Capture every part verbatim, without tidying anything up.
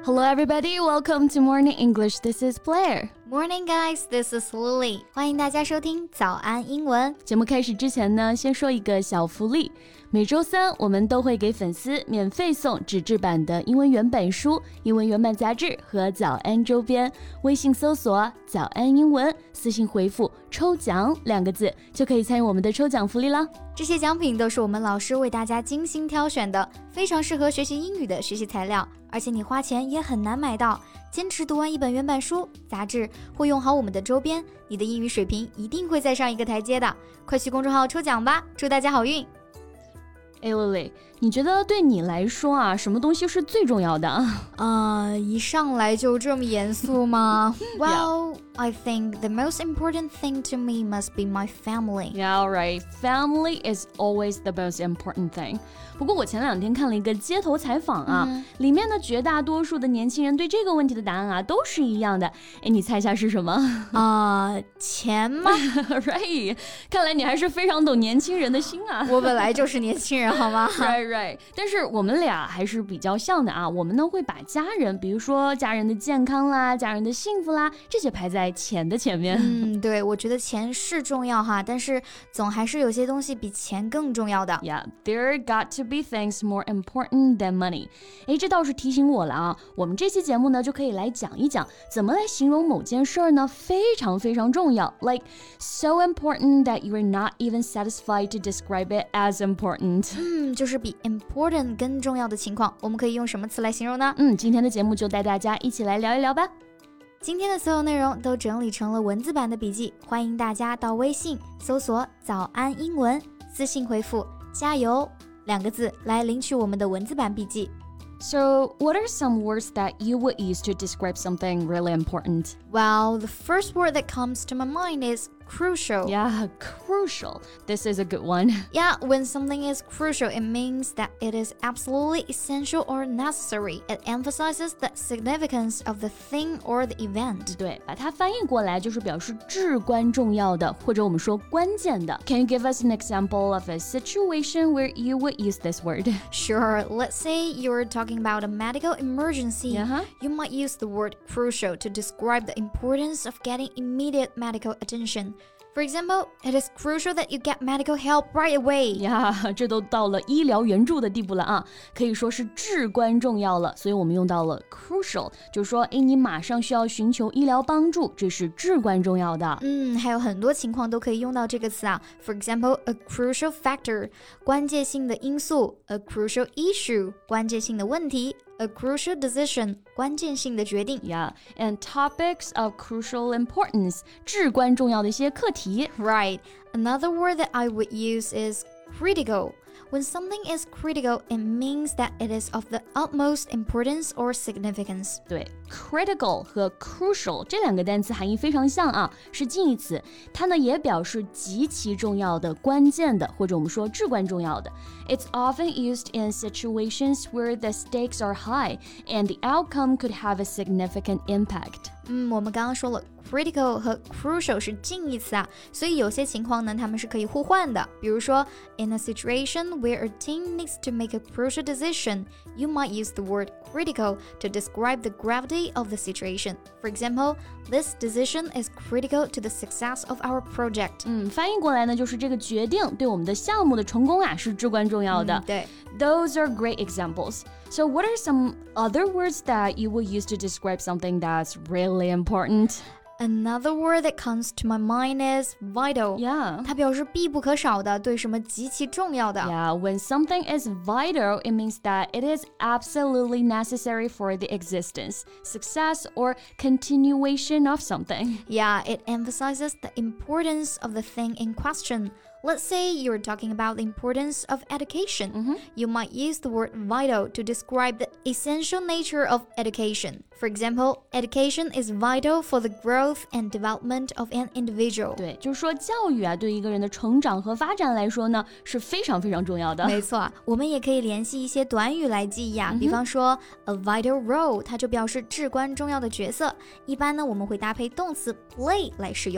Hello everybody, welcome to Morning English. This is Blair. Morning guys, this is Lily. 欢迎大家收听早安英文。 节目开始之前呢，先说一个小福利。每周三我们都会给粉丝免费送纸质版的英文原版书、英文原版杂志和早安周边。微信搜索早安英文，私信回复抽奖两个字就可以参与我们的抽奖福利了。 这些奖品都是我们老师为大家精心挑选的，非常适合学习英语的学习材料，而且你花钱也很难买到。坚持读完一本原版书、杂志，或用好我们的周边，你的英语水平一定会再上一个台阶的。快去公众号抽奖吧，祝大家好运！ 哎 Lily， 你觉得对你来说啊，什么东西是最重要的啊？ 呃，一上来就这么严肃吗？Well, I think the most important thing to me must be my family. Yeah, right. Family is always the most important thing. 不过我前两天看了一个街头采访啊，嗯、里面的绝大多数的年轻人对这个问题的答案啊都是一样的。哎，你猜一下是什么？ 啊、呃，钱吗 ？Right. 看来你还是非常懂年轻人的心啊。 我本来就是年轻人，好吗 ？Right, right. 但是我们俩还是比较像的啊。我们呢会把家人，比如说家人的健康啦、家人的幸福啦，这些排在钱的前面。 嗯，对，我觉得钱是重要哈，但是总还是有些东西比钱更重要的。 Yeah, there got to be things more important than money. 诶，这倒是提醒我了啊。我们这期节目呢，就可以来讲一讲怎么来形容某件事儿呢，非常非常重要 ，like so important that you are not even satisfied to describe it as important. 嗯，就是比 important 更重要的情况，我们可以用什么词来形容呢？ 嗯，今天的节目就带大家一起来聊一聊吧。 今天的所有内容都整理成了文字版的笔记，欢迎大家到微信搜索早安英文，私信回复加油两个字来领取我们的文字版笔记。 So, what are some words that you would use to describe something really important? Well, the first word that comes to my mind is crucial. Yeah, crucial. This is a good one. Yeah, when something is crucial, it means that it is absolutely essential or necessary. It emphasizes the significance of the thing or the event. 对，把它翻译过来就是表示至关重要的，或者我们说关键的。Can you give us an example of a situation where you would use this word? Sure. Let's say you're talking about a medical emergency. Uh-huh. You might use the word crucial to describe the importance of getting immediate medical attention.For example, it is crucial that you get medical help right away. 呀，这都到了医疗援助的地步了啊，可以说是至关重要了。所以我们用到了 crucial， 就是说，哎，你马上需要寻求医疗帮助，这是至关重要的。 嗯，还有很多情况都可以用到这个词啊。For example, a crucial factor， 关键性的因素 ；a crucial issue， 关键性的问题。A crucial decision, 关键性的决定 Yeah, and topics of crucial importance, 至关重要的一些课题 Right, another word that I would use is critical When something is critical, it means that it is of the utmost importance or significance 对 critical 和 crucial 这两个单词含义非常像啊，是近义词，它呢也表示极其重要的、关键的，或者我们说至关重要的。It's often used in situations where the stakes are high and the outcome could have a significant impact. 嗯，我们刚刚说了 critical 和 crucial 是近义词啊，所以有些情况呢，它们是可以互换的。比如说 in a situation where a team needs to make a crucial decision, you might use the word critical to describe the gravity of the situation. For example, this decision is critical to the success of our project. 嗯，翻译过来呢，就是这个决定对我们的项目的成功啊是至关重要的。 嗯，对。 Those are great examples. So what are some other words that you will use to describe something that's really important? Another word that comes to my mind is vital. Yeah. 它表示必不可少的，对什么极其重要的。 Yeah, when something is vital, it means that it is absolutely necessary for the existence, success, or continuation of something. Yeah, it emphasizes the importance of the thing in question. Let's say you're talking about the importance of education. Mm-hmm. You might use the word vital to describe the essential nature of education. For example, education is vital for the growth and development of an individual. 对，就是说教育啊，对一个人的成长和发展来说呢，是非常非常重要的。 没错，我们也可以联系一些短语来记忆啊， 嗯、 比方说 a vital role， 它就表示至关重要的角色。一般呢，我们会搭配动词 play 来使用。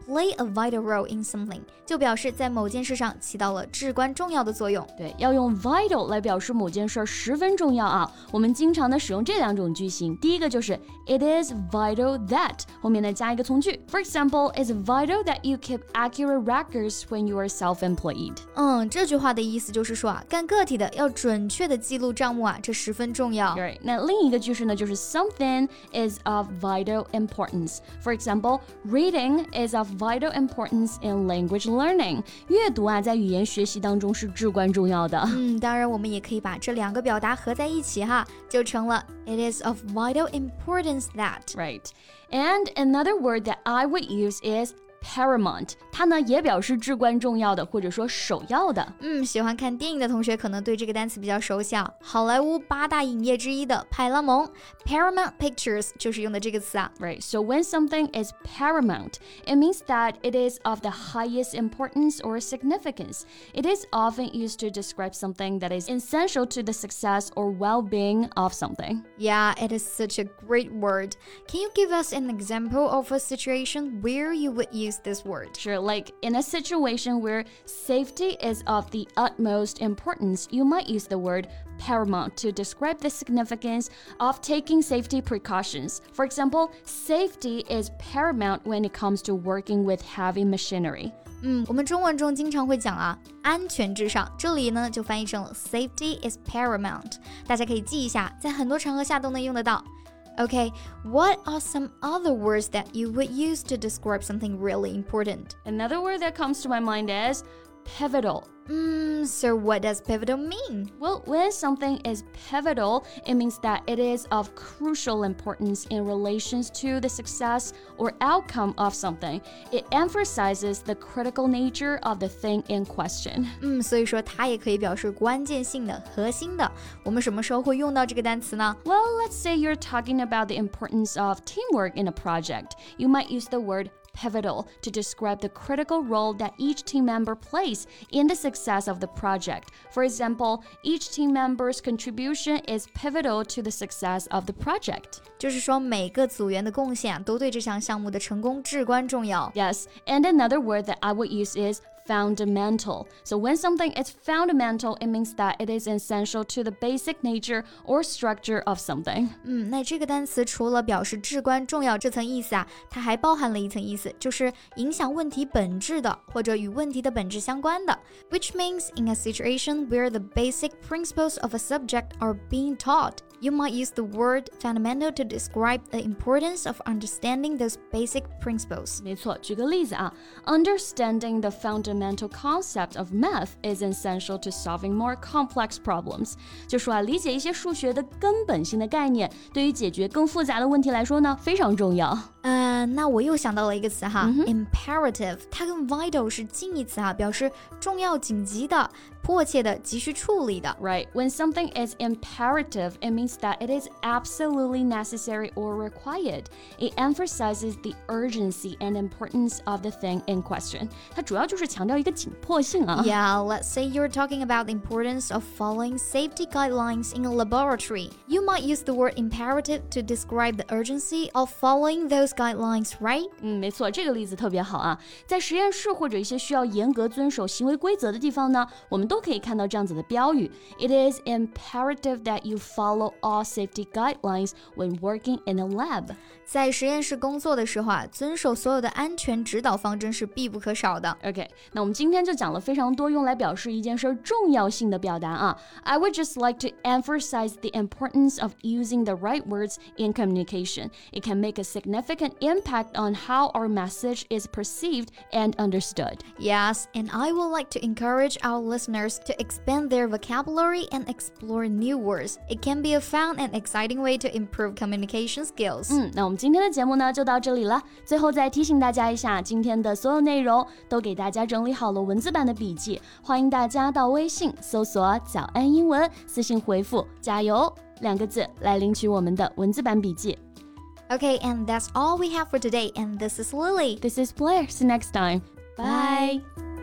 play a vital role in something 就表示在某件事上起到了至关重要的作用。 对，要用 vital 来表示某件事十分重要啊。我们经常的使用这两种句型，第一个就是 It is vital that 后面呢加一个从句 For example, it's vital that you keep accurate records when you are self-employed. 嗯，这句话的意思就是说啊，干个体的要准确的记录账目啊，这十分重要。 Right. 那另一个句式呢，就是 something is of vital importance. For example, reading is of vital importance in language learning. 阅读啊，在语言学习当中是至关重要的。 嗯，当然我们也可以把这两个表达合在一起哈，就成了 It is of vital importance that. Right. And another word that I would use is paramount. 它呢也表示至关重要的，或者说首要的。 嗯，喜欢看电影的同学可能对这个单词比较熟悉啊。好莱坞八大影业之一的派拉蒙 Paramount Pictures 就是用的这个词啊。 Right. So when something is paramount, it means that it is of the highest importance or significance. It is often used to describe something that is essential to the success or well-being of something. Yeah, it is such a great word. Can you give us an example of a situation where you would use this word? Sure, like in a situation where safety is of the utmost importance, you might use the word paramount to describe the significance of taking safety precautions. For example, safety is paramount when it comes to working with heavy machinery. 嗯，我们中文中经常会讲啊，安全至上，这里呢就翻译成了 safety is paramount。大家可以记一下，在很多场合下都能用得到。Okay, what are some other words that you would use to describe something really important? Another word that comes to my mind is pivotal. Mm, so what does pivotal mean? Well, when something is pivotal, it means that it is of crucial importance in relations to the success or outcome of something. It emphasizes the critical nature of the thing in question. 嗯，所以说它也可以表示关键性的、核心的。我们什么时候会用到这个单词呢？ Well, let's say you're talking about the importance of teamwork in a project. You might use the word pivotal to describe the critical role that each team member plays in the success of the project. For example, each team member's contribution is pivotal to the success of the project. 就是说每个组员的贡献啊，都对这项项目的成功至关重要。 Yes, and another word that I would use is fundamental. So when something is fundamental, it means that it is essential to the basic nature or structure of something. 嗯，那这个单词除了表示至关重要这层意思啊，它还包含了一层意思，就是影响问题本质的，或者与问题的本质相关的。Which means in a situation where the basic principles of a subject are being taught, you might use the word fundamental to describe the importance of understanding those basic principles. 没错，举个例子啊 Understanding the fundamental concept of math is essential to solving more complex problems. 就说啊，理解一些数学的根本性的概念，对于解决更复杂的问题来说呢，非常重要。 呃，那我又想到了一个词哈、mm hmm. imperative， 它跟 vital 是近义词哈，表示重要、紧急的、迫切的、急需处理的。 Right, when something is imperative, it means that it is absolutely necessary or required. It emphasizes the urgency and importance of the thing in question. 它主要就是强调一个紧迫性啊。 Yeah, let's say you're talking about the importance of following safety guidelines in a laboratory. You might use the word imperative to describe the urgency of following those guidelines, right? 嗯，没错，这个例子特别好啊。在实验室或者一些需要严格遵守行为规则的地方呢，我们都可以看到这样子的标语 It is imperative that you follow all safety guidelines when working in a lab. 在实验室工作的时候啊，遵守所有的安全指导方针是必不可少的。 OK, 那我们今天就讲了非常多用来表示一件事重要性的表达啊。I would just like to emphasize the importance of using the right words in communication. It can make a significant impact on how our message is perceived and understood. Yes, and I would like to encourage our listeners to expand their vocabulary and explore new words. It can be a fun and exciting way to improve communication skills. 嗯，那我们今天的节目呢就到这里了。最后再提醒大家一下，今天的所有内容都给大家整理好了文字版的笔记，欢迎大家到微信搜索早安英文，私信回复加油两个字来领取我们的文字版笔记。 Okay, and that's all we have for today. And this is Lily. This is Blair. See you next time. Bye.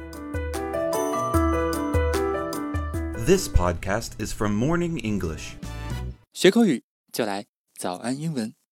This podcast is from Morning English. 学口语就来早安英文。